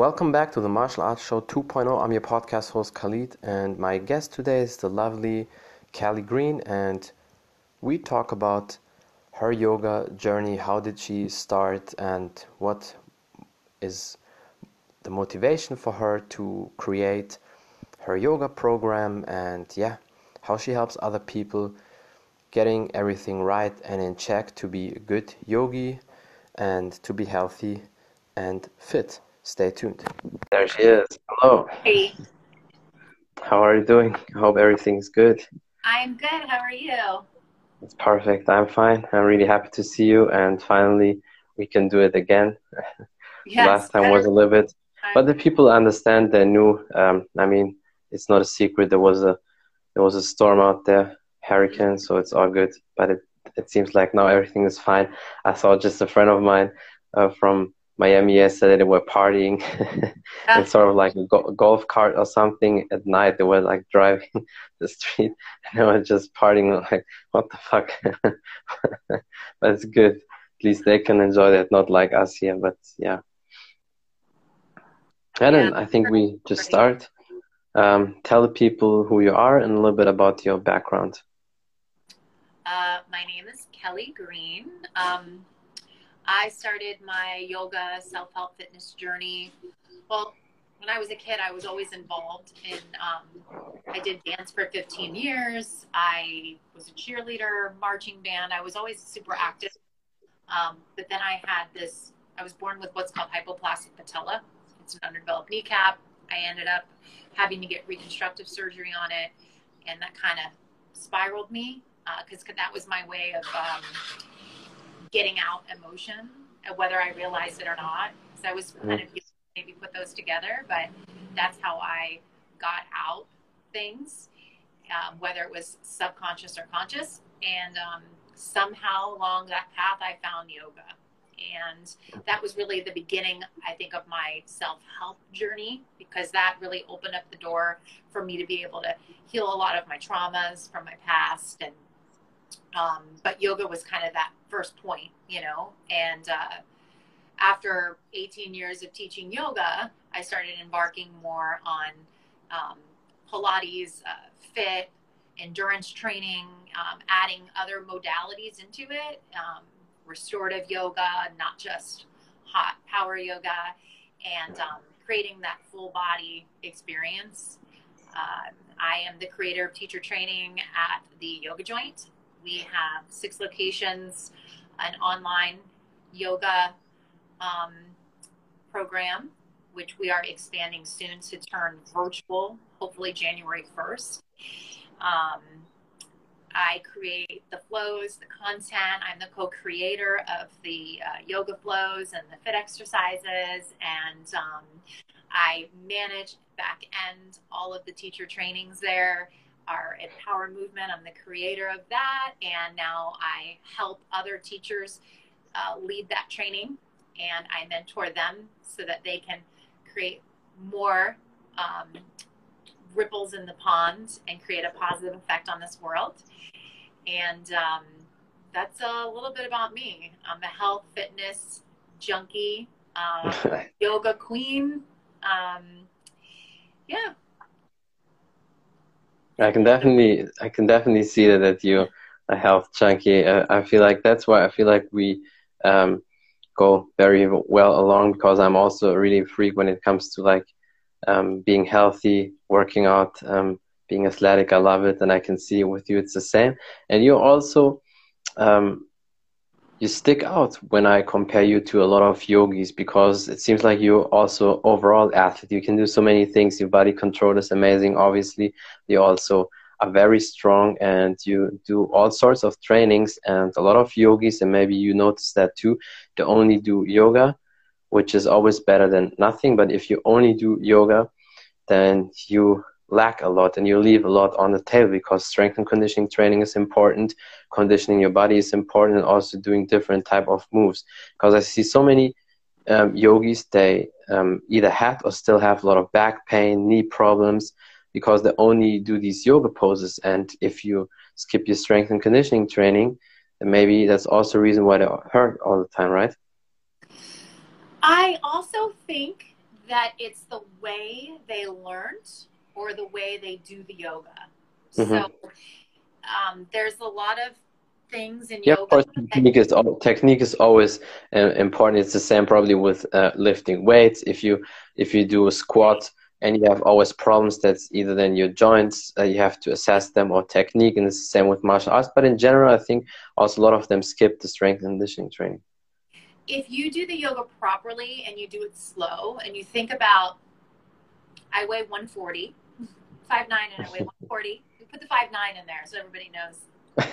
Welcome back to the Martial Arts Show 2.0. I'm your podcast host Khalid, and my guest today is the lovely Callie Green, and we talk about her yoga journey. How did she start, and what is the motivation for her to create her yoga program, and how she helps other people getting everything right and in check to be a good yogi and to be healthy and fit. Stay tuned. There she is. Hello. Hey, How are you doing? I hope everything's good. I'm good. How are you? It's perfect. I'm fine. I'm really happy to see you, and finally we can do it again. The Yes, last time better was a little bit, time. but the people understand. They knew. I mean, it's not a secret. There was a storm out there, hurricane, so it's all good. But it seems like now everything is fine. I saw just a friend of mine from Miami yesterday. They were partying in Yeah, sort of like a golf cart or something at night. They were like driving the street and they were just partying. Like, what the fuck? But it's good. At least they can enjoy that, not like us here. But yeah. And yeah. then I think we just start. Tell the people who you are and a little bit about your background. My name is Kelly Green. I started my yoga self-help fitness journey. Well, when I was a kid, I was always involved in, I did dance for 15 years. I was a cheerleader, marching band. I was always super active. But then I was born with what's called hypoplastic patella. It's an underdeveloped kneecap. I ended up having to get reconstructive surgery on it, and that kind of spiraled me because that was my way of getting out emotion, whether I realized it or not. So I was kind of maybe put those together, but that's how I got out things, whether it was subconscious or conscious. And somehow along that path, I found yoga. And that was really the beginning, I think, of my self-help journey, because that really opened up the door for me to be able to heal a lot of my traumas from my past. And but yoga was kind of that first point, and after 18 years of teaching yoga, I started embarking more on Pilates, fit, endurance training, adding other modalities into it, restorative yoga, not just hot power yoga, and creating that full body experience. I am the creator of teacher training at the Yoga Joint. We have 6 locations, an online yoga program, which we are expanding soon to turn virtual, hopefully January 1st. I create the flows, the content. I'm the co-creator of the yoga flows and the fit exercises, and I manage back end all of the teacher trainings there. Our Empower movement, I'm the creator of that, and now I help other teachers lead that training, and I mentor them so that they can create more ripples in the pond and create a positive effect on this world. And that's a little bit about me. I'm a health fitness junkie, yoga queen. Yeah. I can definitely see that you're a health junkie. I feel like that's why I feel like we go very well along, because I'm also a really freak when it comes to like being healthy, working out, being athletic. I love it, and I can see with you it's the same. And you're also you stick out when I compare you to a lot of yogis, because it seems like you're also overall athlete. You can do so many things. Your body control is amazing, obviously. You also are very strong, and you do all sorts of trainings. And a lot of yogis, and maybe you notice that too, they only do yoga, which is always better than nothing. But if you only do yoga, then you lack a lot and you leave a lot on the table, because strength and conditioning training is important, conditioning your body is important, and also doing different type of moves. Because I see so many yogis, they either had or still have a lot of back pain, knee problems, because they only do these yoga poses. And if you skip your strength and conditioning training, then maybe that's also a reason why they hurt all the time, right? I also think that it's the way they learned or the way they do the yoga. Mm-hmm. So there's a lot of things in Yeah, yoga. of course, technique is always important. It's the same probably with lifting weights. If you do a squat and you have always problems, that's either then your joints, you have to assess them, or technique, and it's the same with martial arts. But in general, I think also a lot of them skip the strength and conditioning training. If you do the yoga properly and you do it slow, and you think about, I weigh 140, 5'9", and I weigh 140. We put the 5'9" in there so everybody knows.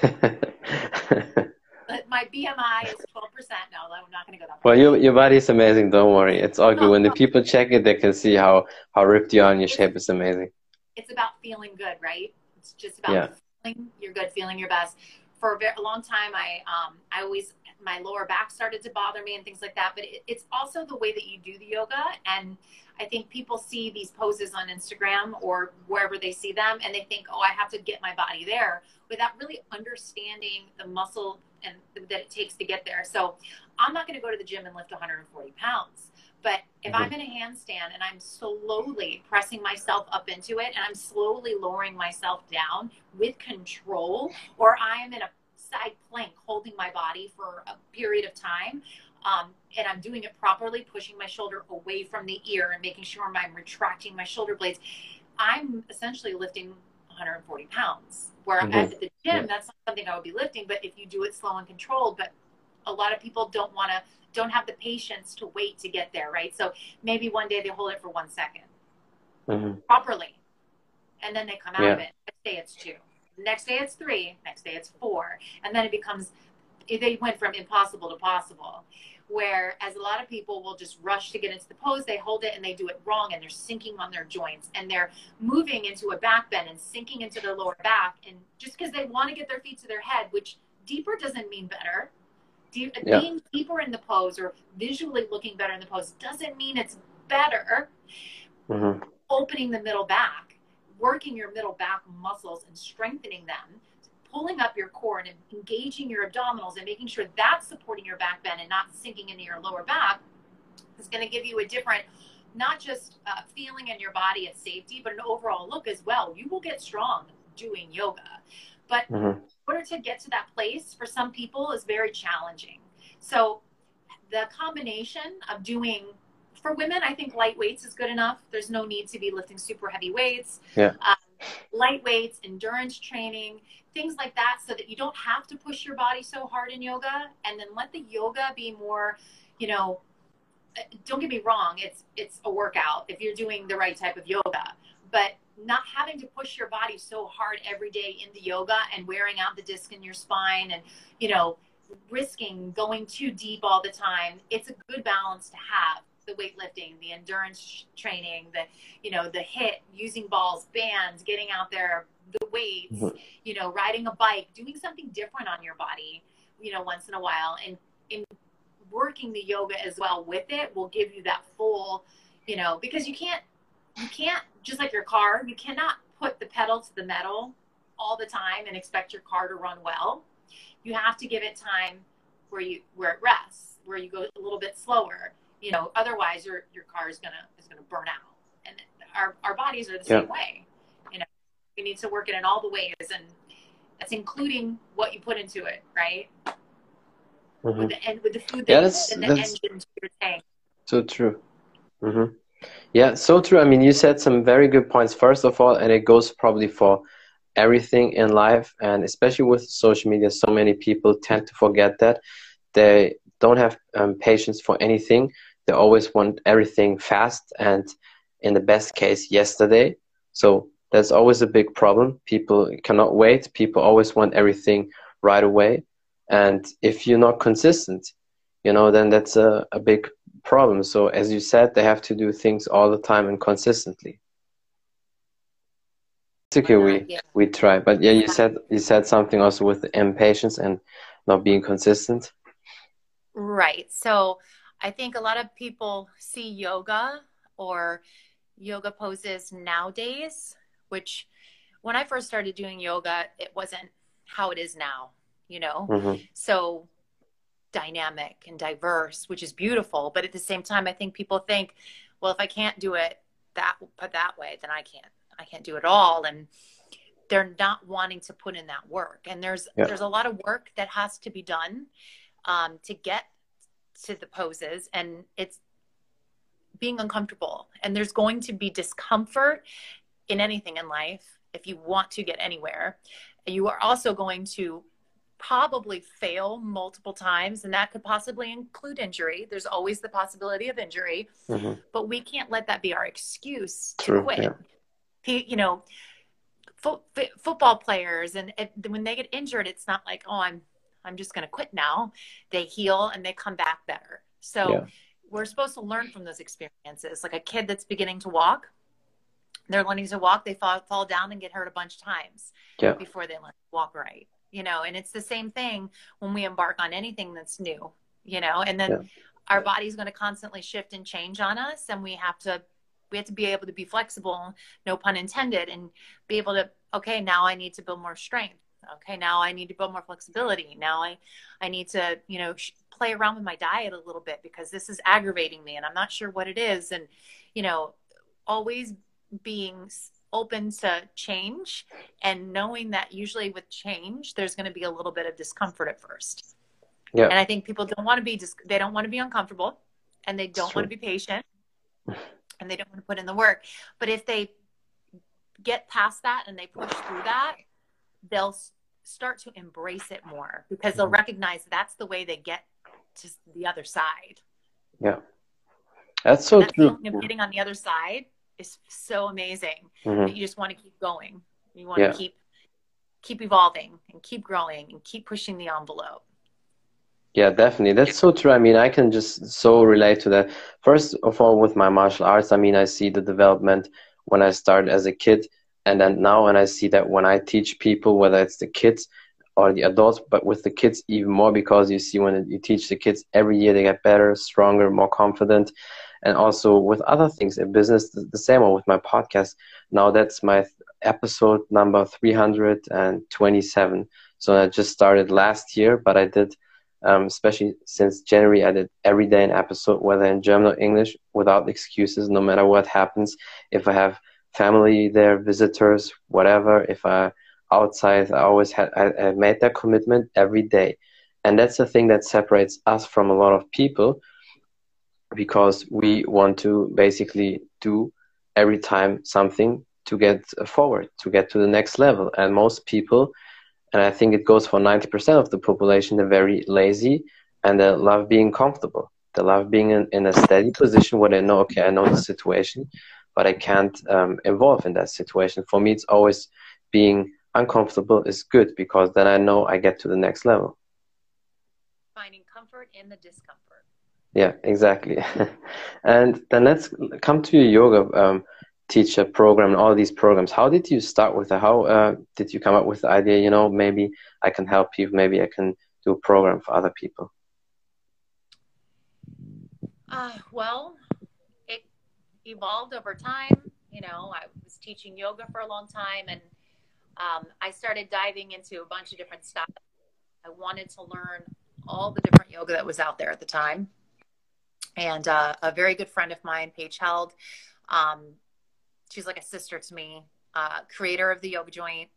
But my BMI is 12%. No, I'm not going to go that far. Well, your body is amazing. Don't worry, it's all good. When the people check it, they can see how ripped you are, and your shape is amazing. It's about feeling good, right? It's just about feeling you're good, feeling your best. For a long time, I always, my lower back started to bother me and things like that. But it's also the way that you do the yoga. And I think people see these poses on Instagram or wherever they see them, and they think, oh, I have to get my body there, without really understanding the muscle and that it takes to get there. So I'm not going to go to the gym and lift 140 pounds. But if I'm in a handstand and I'm slowly pressing myself up into it, and I'm slowly lowering myself down with control, or I am in a side plank holding my body for a period of time, and I'm doing it properly, pushing my shoulder away from the ear and making sure I'm retracting my shoulder blades, I'm essentially lifting 140 pounds. Where at the gym, that's not something I would be lifting, but if you do it slow and controlled. But a lot of people don't have the patience to wait to get there, right? So maybe one day they hold it for 1 second properly, and then they come out of it. Next day it's 2, next day it's 3, next day it's 4, and then they went from impossible to possible. Whereas a lot of people will just rush to get into the pose, they hold it and they do it wrong, and they're sinking on their joints, and they're moving into a back bend and sinking into their lower back, and just because they want to get their feet to their head, which deeper doesn't mean better. Being deeper in the pose or visually looking better in the pose doesn't mean it's better. Opening the middle back, working your middle back muscles and strengthening them, pulling up your core and engaging your abdominals and making sure that's supporting your back bend and not sinking into your lower back, is going to give you a different, not just feeling in your body of safety, but an overall look as well. You will get strong doing yoga. But in order to get to that place, for some people, is very challenging. So the combination of doing, for women, I think light weights is good enough. There's no need to be lifting super heavy weights. Light weights, endurance training, things like that, so that you don't have to push your body so hard in yoga. And then let the yoga be more, don't get me wrong, it's a workout if you're doing the right type of yoga. But not having to push your body so hard every day in the yoga and wearing out the disc in your spine and, risking going too deep all the time. It's a good balance to have. The weightlifting, the endurance training, the HIIT, using balls, bands, getting out there, the weights, riding a bike, doing something different on your body, once in a while, and in working the yoga as well with it will give you that full, because you can't, just like your car, you cannot put the pedal to the metal all the time and expect your car to run well. You have to give it time where it rests, where you go a little bit slower. Otherwise your car is gonna burn out. And our bodies are the same way. We need to work it in all the ways, and that's including what you put into it, right? With the food that and the engine to your tank. So true. Yeah, so true. I mean, you said some very good points, first of all, and it goes probably for everything in life, and especially with social media, so many people tend to forget that. They don't have patience for anything. They always want everything fast, and in the best case, yesterday. So that's always a big problem. People cannot wait. People always want everything right away. And if you're not consistent, then that's a big problem. So as you said, they have to do things all the time and consistently. Basically, we try. But yeah, you said something also with the impatience and not being consistent. Right. So I think a lot of people see yoga or yoga poses nowadays, which when I first started doing yoga, it wasn't how it is now, so dynamic and diverse, which is beautiful. But at the same time, I think people think, well, if I can't do it that way, then I can't do it all. And they're not wanting to put in that work. And there's a lot of work that has to be done to get to the poses, and it's being uncomfortable. And there's going to be discomfort in anything in life if you want to get anywhere. You are also going to probably fail multiple times, and that could possibly include injury. There's always the possibility of injury, but we can't let that be our excuse to quit. You know, football players, and when they get injured, it's not like, oh, I'm just going to quit now. They heal and they come back better. So we're supposed to learn from those experiences. Like a kid that's beginning to walk, they're learning to walk, they fall down and get hurt a bunch of times before they learn to walk right. You know, and it's the same thing when we embark on anything that's new, you know, and then our body's going to constantly shift and change on us. And we have to be able to be flexible, no pun intended, and be able to, okay, now I need to build more strength. Okay, now I need to build more flexibility. Now I need to, you know, play around with my diet a little bit because this is aggravating me and I'm not sure what it is. And, you know, always being open to change and knowing that usually with change, there's going to be a little bit of discomfort at first. Yeah. And I think people don't want to be, they don't want to be uncomfortable, and they don't want to be patient, and they don't want to put in the work. But if they get past that and they push through that, they'll start to embrace it more because they'll recognize that's the way they get to the other side. Yeah. That's so true. Getting on the other side is so amazing that you just want to keep going. You want to keep evolving and keep growing and keep pushing the envelope. Yeah, definitely. That's so true. I mean, I can just so relate to that. First of all, with my martial arts, I mean, I see the development when I started as a kid, and then now when I see that when I teach people, whether it's the kids or the adults, but with the kids even more, because you see when you teach the kids every year, they get better, stronger, more confident. And also with other things in business, the same, or with my podcast. Now that's my episode number 327. So I just started last year, but I did, especially since January, I did every day an episode, whether in German or English, without excuses, no matter what happens. If I have family there, visitors, whatever, if I outside, I made that commitment every day. And that's the thing that separates us from a lot of people, because we want to basically do every time something to get forward, to get to the next level. And most people, and I think it goes for 90% of the population, they're very lazy and they love being comfortable. They love being in a steady position where they know, okay, I know the situation, but I can't evolve in that situation. For me, it's always being uncomfortable is good, because then I know I get to the next level. Finding comfort in the discomfort. Yeah, exactly. And then let's come to your yoga teacher program and all these programs. How did you start with it? How did you come up with the idea, you know, maybe I can help you, maybe I can do a program for other people? Well, it evolved over time. You know, I was teaching yoga for a long time, and I started diving into a bunch of different styles. I wanted to learn all the different yoga that was out there at the time. And a very good friend of mine, Paige Held, she's like a sister to me, creator of the Yoga Joint.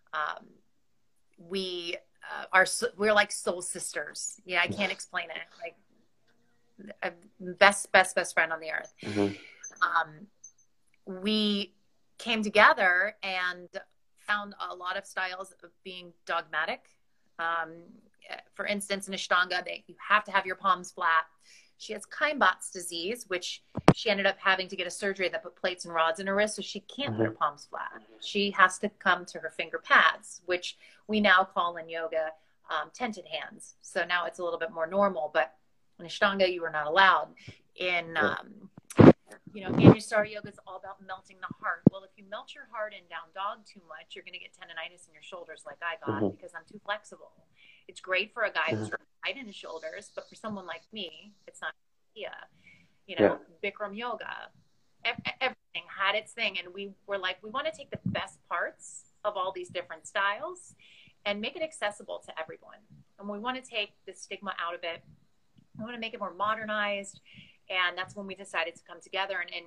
We're like soul sisters. Yeah, I can't explain it. Like best friend on the earth. We came together and found a lot of styles of being dogmatic. For instance, in Ashtanga, you have to have your palms flat. She has Caimbat's disease, which she ended up having to get a surgery that put plates and rods in her wrist, so she can't put her palms flat. She has to come to her finger pads, which we now call in yoga tented hands. So now it's a little bit more normal, but in Ashtanga, you are not allowed. In Anusara yoga is all about melting the heart. Well, if you melt your heart in down dog too much, you're going to get tendonitis in your shoulders like I got because I'm too flexible. It's great for a guy who's tight in his shoulders, but for someone like me, it's not an idea. Bikram yoga, everything had its thing. And we were like, we want to take the best parts of all these different styles and make it accessible to everyone. And we want to take the stigma out of it. We want to make it more modernized And that's when we decided to come together. And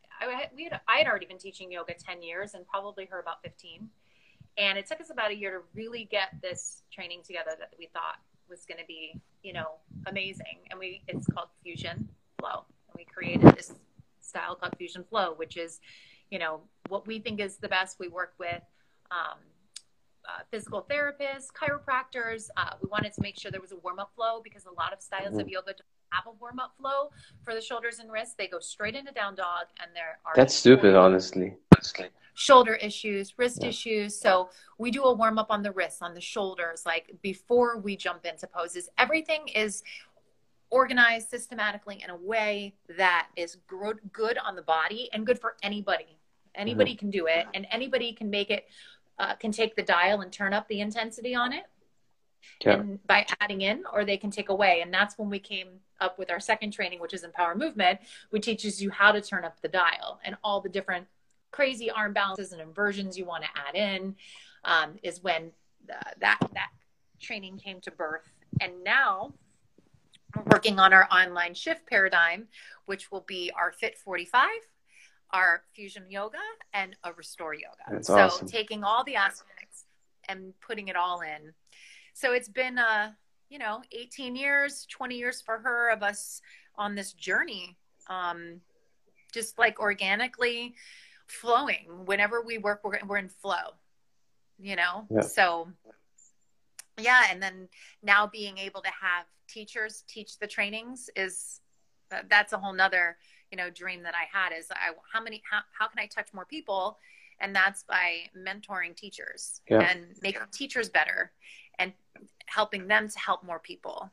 I had already been teaching yoga 10 years and probably her about 15. And it took us about a year to really get this training together that we thought was going to be, you know, amazing. And it's called Fusion Flow. And we created this style called Fusion Flow, which is, you know, what we think is the best. We work with physical therapists, chiropractors. We wanted to make sure there was a warm-up flow because a lot of styles of yoga don't have a warm-up flow for the shoulders and wrists. They go straight into down dog, and there are That's stupid, honestly. Shoulder issues, wrist issues. So we do a warm-up on the wrists, on the shoulders, like before we jump into poses. Everything is organized systematically in a way that is good on the body and good for anybody. Anybody can do it, and anybody can make it, can take the dial and turn up the intensity on it. And by adding in, or they can take away. And that's when we came up with our second training, which is Empower Movement, which teaches you how to turn up the dial and all the different crazy arm balances and inversions you want to add in, is when that training came to birth. And now we're working on our online shift paradigm, which will be our Fit 45, our Fusion Yoga, and a Restore Yoga. That's so awesome. Taking all the aspects and putting it all in. So it's been, 18 years, 20 years for her of us on this journey, just like organically flowing. Whenever we work, we're in flow, So, yeah. And then now being able to have teachers teach the trainings that's a whole nother, dream that I had is how can I touch more people? And that's by mentoring teachers and making teachers better and helping them to help more people,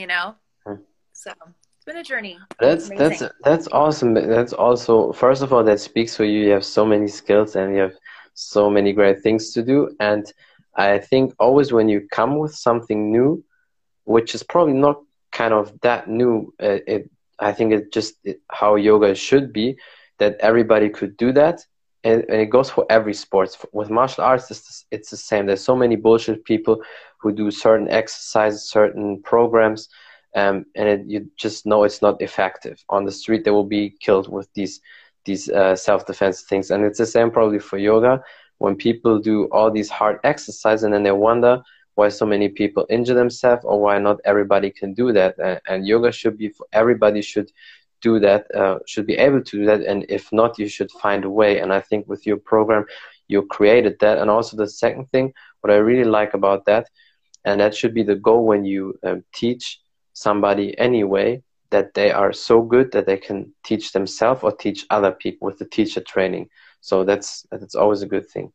So it's been a journey. That's awesome. That's also, first of all, that speaks for you. You have so many skills and you have so many great things to do. And I think always when you come with something new, which is probably not kind of that new, I think it's just how yoga should be, that everybody could do that. And it goes for every sport. With martial arts, it's the same. There's so many bullshit people who do certain exercises, certain programs, and you just know it's not effective. On the street, they will be killed with these self-defense things. And it's the same probably for yoga. When people do all these hard exercises and then they wonder why so many people injure themselves or why not everybody can do that. And yoga should be for everybody, should do that, should be able to do that, and if not, you should find a way. And I think with your program you created that. And also the second thing, what I really like about that, and that should be the goal when you teach somebody anyway, that they are so good that they can teach themselves or teach other people with the teacher training. So that's always a good thing,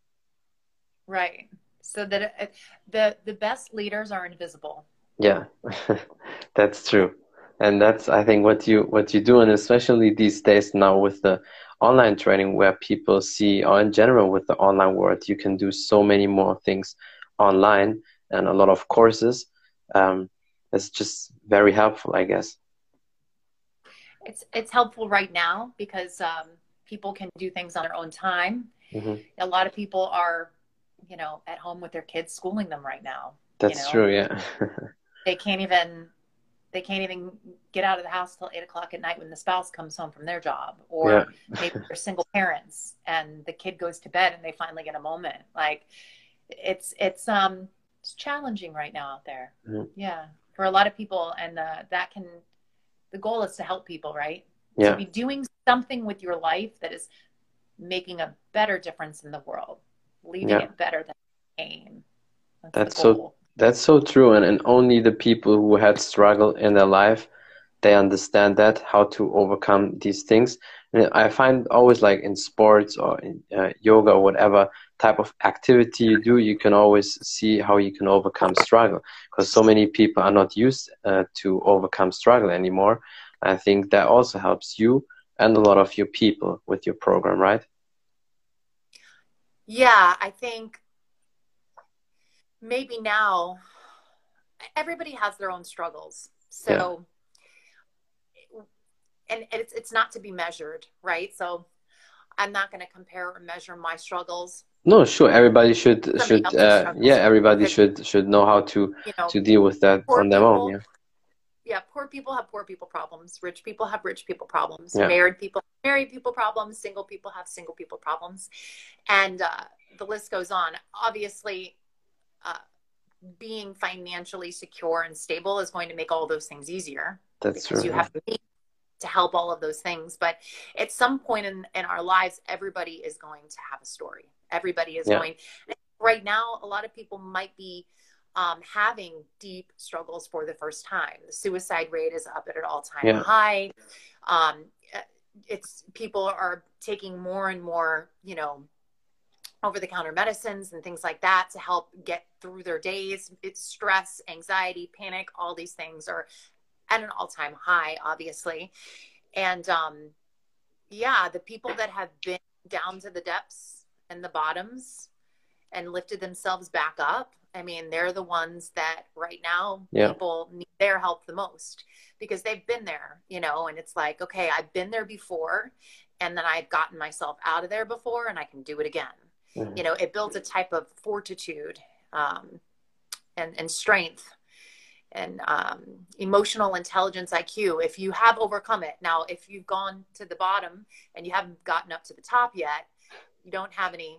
right? So that the best leaders are invisible. Yeah. That's true. And that's, I think, what you do, and especially these days now with the online training, where people see, or in general with the online world, you can do so many more things online and a lot of courses. It's just very helpful, I guess. It's helpful right now because people can do things on their own time. Mm-hmm. A lot of people are, at home with their kids, schooling them right now. That's true, yeah. They can't even get out of the house till 8 o'clock at night when the spouse comes home from their job, or maybe they're single parents and the kid goes to bed and they finally get a moment. Like it's challenging right now out there. Mm-hmm. Yeah. For a lot of people. And the goal is to help people, right? Yeah. To be doing something with your life that is making a better difference in the world, leaving it better than it came. That's so true, and only the people who had struggle in their life, they understand that, how to overcome these things. And I find always, like in sports or in yoga or whatever type of activity you do, you can always see how you can overcome struggle, because so many people are not used to overcome struggle anymore. I think that also helps you and a lot of your people with your program, right? Yeah, I think maybe now everybody has their own struggles. So, and it's not to be measured, right? So I'm not going to compare or measure my struggles. No, sure. Everybody should should know how to deal with that on their own. Yeah. yeah, poor people have poor people problems. Rich people have rich people problems. Yeah. Married people have married people problems. Single people have single people problems. And the list goes on. Obviously, uh, being financially secure and stable is going to make all those things easier That's because true. you have to help all of those things. But at some point in our lives, everybody is going to have a story. Everybody is going. Right now, a lot of people might be having deep struggles for the first time. The suicide rate is up at an all-time high. It's people are taking more and more, you know, over-the-counter medicines and things like that to help get through their days. It's stress, anxiety, panic, all these things are at an all-time high, obviously. And yeah, the people that have been down to the depths and the bottoms and lifted themselves back up, I mean, they're the ones that right now people need their help the most because they've been there, you know, and it's like, okay, I've been there before and then I've gotten myself out of there before and I can do it again. Mm-hmm. You know, it builds a type of fortitude and strength and emotional intelligence IQ. If you have overcome it. Now, if you've gone to the bottom and you haven't gotten up to the top yet, you don't have any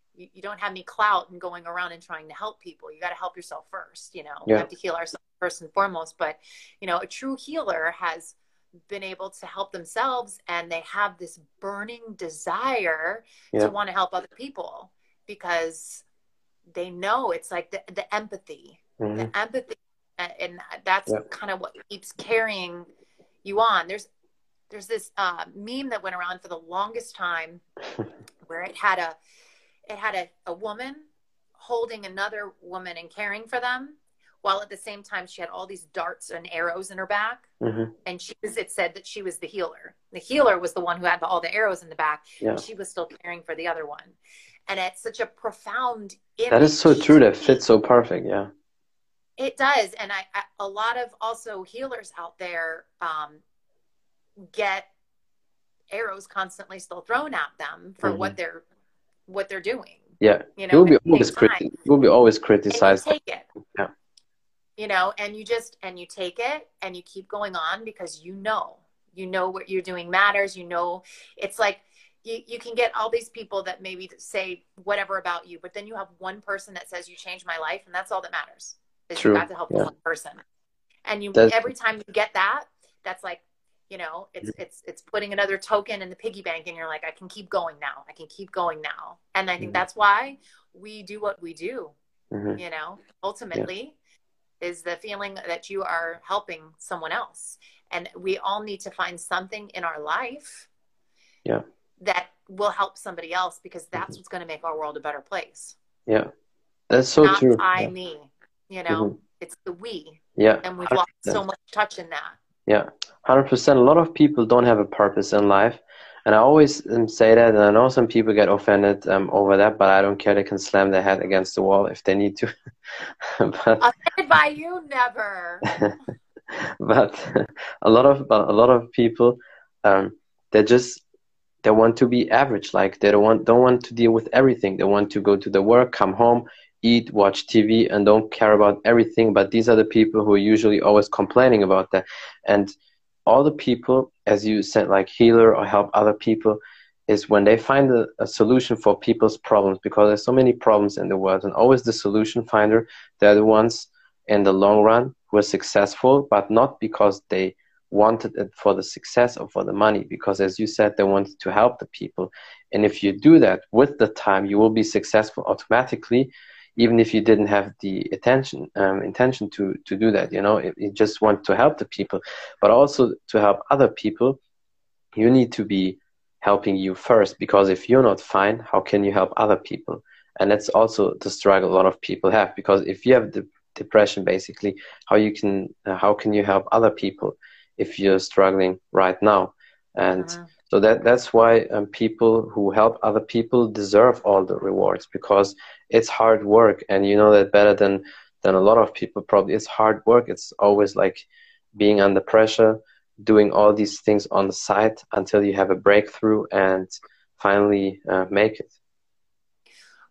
clout in going around and trying to help people. You got to help yourself first, you know. We have to heal ourselves first and foremost. But, you know, a true healer has been able to help themselves and they have this burning desire to want to help other people because they know it's like the empathy, the empathy. And that's kind of what keeps carrying you on. There's this meme that went around for the longest time where it had a woman holding another woman and caring for them, while at the same time she had all these darts and arrows in her back. Mm-hmm. And it said that she was the healer. The healer was the one who had all the arrows in the back. Yeah. And she was still caring for the other one. And it's such a profound image. That is so true. That fits so perfect. Yeah. It does. And a lot of also healers out there get arrows constantly still thrown at them for what they're doing. Yeah. You know, you'll be always criticized. And you take it. Yeah. You know, and you take it and you keep going on because you know what you're doing matters. You know, it's like you can get all these people that maybe say whatever about you, but then you have one person that says you changed my life, and that's all that matters. Is you got to help one person. And every time you get that, that's like, you know, it's putting another token in the piggy bank, and you're like, I can keep going now. I can keep going now. And I think that's why we do what we do. Mm-hmm. You know, ultimately is the feeling that you are helping someone else. And we all need to find something in our life that will help somebody else, because that's what's going to make our world a better place. Yeah. That's so Not true. Me, you know, it's the we. Yeah. And we've lost so much touch in that. Yeah. 100%. A lot of people don't have a purpose in life. And I always say that, and I know some people get offended over that, but I don't care. They can slam their head against the wall if they need to. But, offended by you, never. But a lot of people, they want to be average. Like they don't want to deal with everything. They want to go to the work, come home, eat, watch TV, and don't care about everything. But these are the people who are usually always complaining about that. And all the people, as you said, like healer or help other people, is when they find a solution for people's problems, because there's so many problems in the world, and always the solution finder, they're the ones in the long run who are successful, but not because they wanted it for the success or for the money, because as you said, they wanted to help the people. And if you do that with the time, you will be successful automatically, even if you didn't have the intention to do that. You know, you just want to help the people, but also to help other people, you need to be helping you first, because if you're not fine, how can you help other people? And that's also the struggle a lot of people have, because if you have depression, basically, how can you help other people if you're struggling right now? And so that's why people who help other people deserve all the rewards, because it's hard work, and you know that better than a lot of people probably. It's hard work. It's always like being under pressure, doing all these things on the side until you have a breakthrough and finally make it.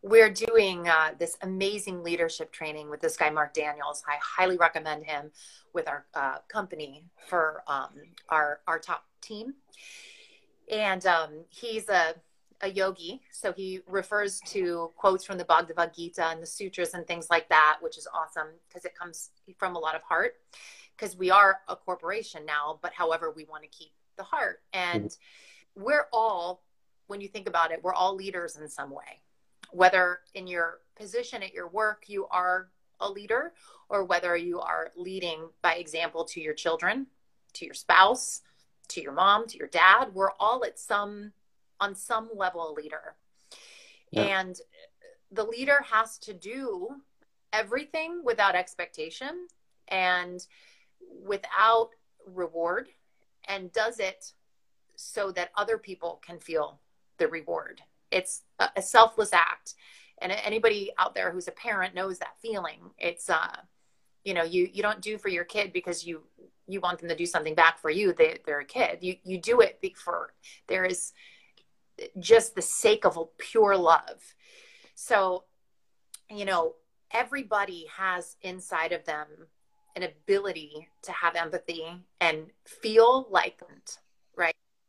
we're doing this amazing leadership training with this guy, Mark Daniels. I highly recommend him with our company for our top team. And he's a yogi. So he refers to quotes from the Bhagavad Gita and the sutras and things like that, which is awesome because it comes from a lot of heart, because we are a corporation now, but however, we want to keep the heart. And we're all, when you think about it, we're all leaders in some way, whether in your position at your work, you are a leader, or whether you are leading by example to your children, to your spouse, to your mom, to your dad. We're all on some level a leader. Yeah. And the leader has to do everything without expectation and without reward, and does it so that other people can feel the reward. It's a selfless act. And anybody out there who's a parent knows that feeling. It's, you don't do for your kid because you want them to do something back for you. They're a kid. You do it there is just the sake of a pure love. So, everybody has inside of them an ability to have empathy and feel like, right?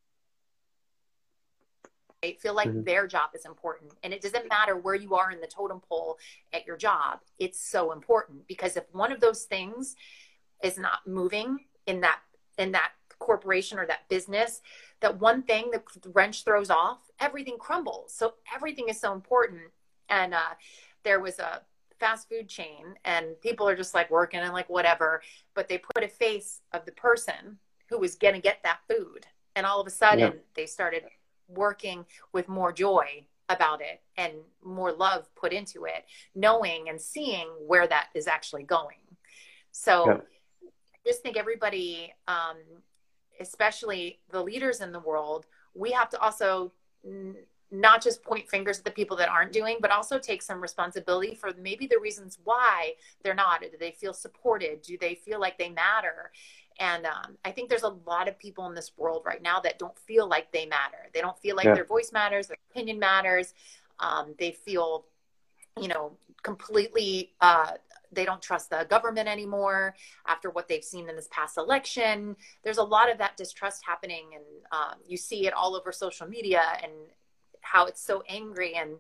Feel like their job is important. And it doesn't matter where you are in the totem pole at your job. It's so important, because if one of those things is not moving in that corporation or that business, that one thing, the wrench throws off, everything crumbles. So everything is so important. And there was a fast food chain, and people are just like working and like whatever, but they put a face of the person who was going to get that food. And all of a sudden they started working with more joy about it and more love put into it, knowing and seeing where that is actually going. So I just think everybody, especially the leaders in the world, we have to also not just point fingers at the people that aren't doing, but also take some responsibility for maybe the reasons why they're not. Do they feel supported? Do they feel like they matter? And I think there's a lot of people in this world right now that don't feel like they matter. They don't feel like their voice matters, their opinion matters. They feel, completely, they don't trust the government anymore after what they've seen in this past election. There's a lot of that distrust happening, and you see it all over social media and how it's so angry. And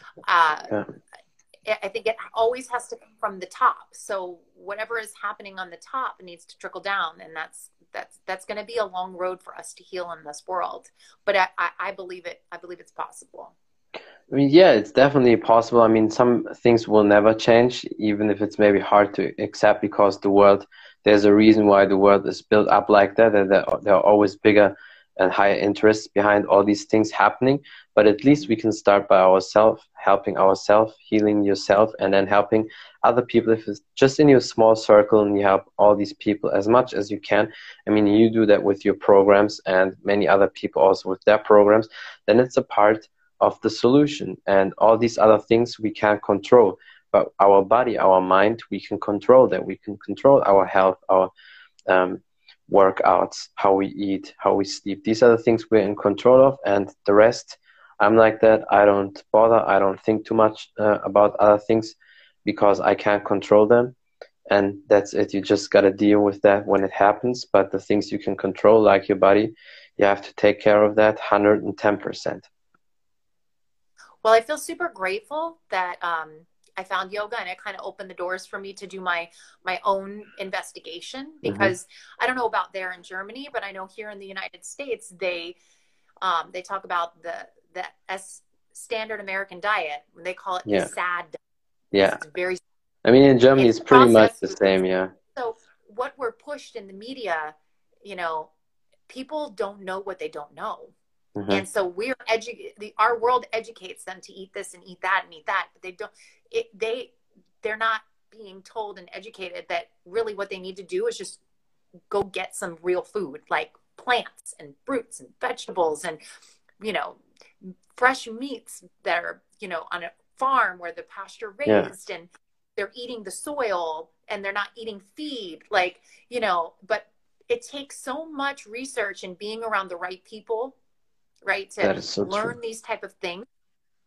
I think it always has to come from the top. So whatever is happening on the top needs to trickle down, and that's going to be a long road for us to heal in this world. But I believe it. I believe it's possible. I mean, yeah, it's definitely possible. I mean, some things will never change, even if it's maybe hard to accept, because there's a reason why the world is built up like that, and there are always bigger and higher interests behind all these things happening. But at least we can start by ourselves, helping ourselves, healing yourself, and then helping other people. If it's just in your small circle and you help all these people as much as you can, I mean, you do that with your programs and many other people also with their programs, then it's a part of the solution. And all these other things we can't control. But our body, our mind, we can control that. We can control our health, our workouts, how we eat, how we sleep. These are the things we're in control of, and the rest, I'm like that. I don't bother. I don't think too much about other things because I can't control them, and that's it. You just got to deal with that when it happens. But the things you can control, like your body, you have to take care of that 110%. Well, I feel super grateful that I found yoga, and it kind of opened the doors for me to do my own investigation, because I don't know about there in Germany, but I know here in the United States, they talk about the standard American diet. They call it the SAD diet. Yeah. It's very, I mean, in Germany, it's pretty much the same. Yeah. So what we're pushed in the media, people don't know what they don't know. And so our world educates them to eat this and eat that and eat that, but they don't, they're not being told and educated that really what they need to do is just go get some real food, like plants and fruits and vegetables and, fresh meats that are, on a farm where the pasture raised and they're eating the soil and they're not eating feed, but it takes so much research and being around the right people, right, to learn these type of things,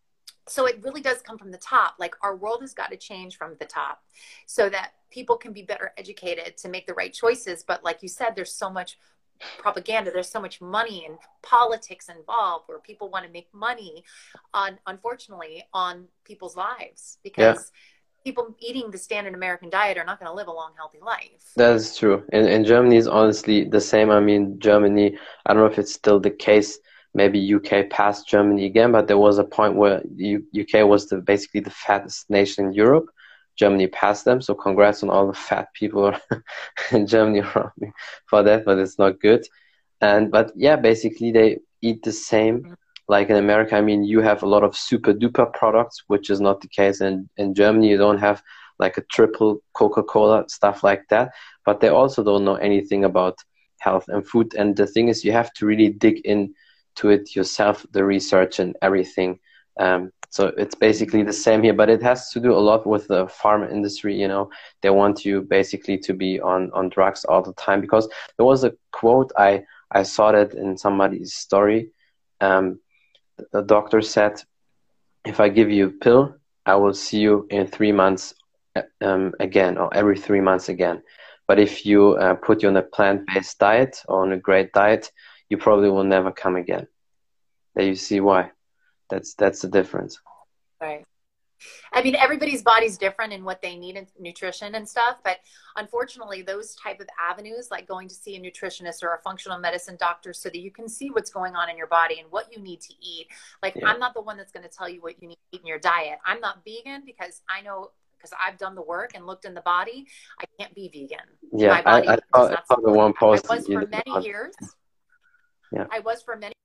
So it really does come from the top. Like our world has got to change from the top so that people can be better educated to make the right choices. But like you said, there's so much propaganda, there's so much money and politics involved where people want to make money on, unfortunately, on people's lives, because people eating the standard American diet are not going to live a long, healthy life. That is true. And Germany is honestly the same. I mean, Germany, I don't know if it's still the case. Maybe UK passed Germany again, but there was a point where UK was basically the fattest nation in Europe. Germany passed them, so congrats on all the fat people in Germany around me for that, but it's not good. But yeah, basically they eat the same like in America. I mean, you have a lot of super duper products, which is not the case in Germany. You don't have like a triple Coca-Cola, stuff like that. But they also don't know anything about health and food. And the thing is, you have to really dig into it yourself, the research and everything. So it's basically the same here, but it has to do a lot with the pharma industry. You know, they want you basically to be on drugs all the time, because there was a quote, I saw that in somebody's story. The doctor said, if I give you a pill, I will see you in 3 months again, or every 3 months again. But if you put you on a plant-based diet or on a great diet, you probably will never come again. There you see why. That's the difference. Right. I mean, everybody's body's different in what they need in nutrition and stuff, but unfortunately, those type of avenues, like going to see a nutritionist or a functional medicine doctor so that you can see what's going on in your body and what you need to eat. Like, I'm not the one that's going to tell you what you need to eat in your diet. I'm not vegan because I know, because I've done the work and looked in the body, I can't be vegan. Yeah, my body I saw the one post. I was for many years. Yeah. I was for many.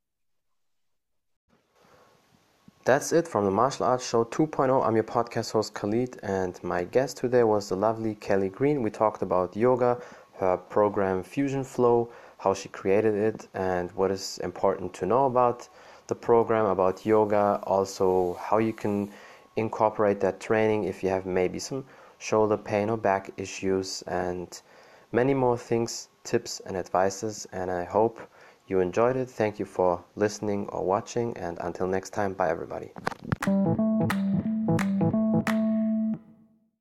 That's it from the Martial Arts Show 2.0. I'm your podcast host Khalid, and my guest today was the lovely Kelly Green. We talked about yoga, her program Fusion Flow, how she created it, and what is important to know about the program, about yoga, also how you can incorporate that training if you have maybe some shoulder pain or back issues, and many more things, tips and advices. And I hope you enjoyed it. Thank you for listening or watching, and until next time, bye everybody.